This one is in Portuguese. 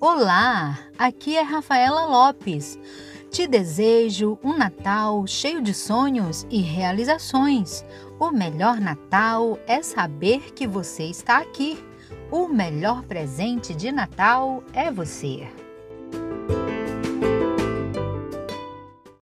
Olá, aqui é Rafaela Lopes. Te desejo um Natal cheio de sonhos e realizações. O melhor Natal é saber que você está aqui. O melhor presente de Natal é você.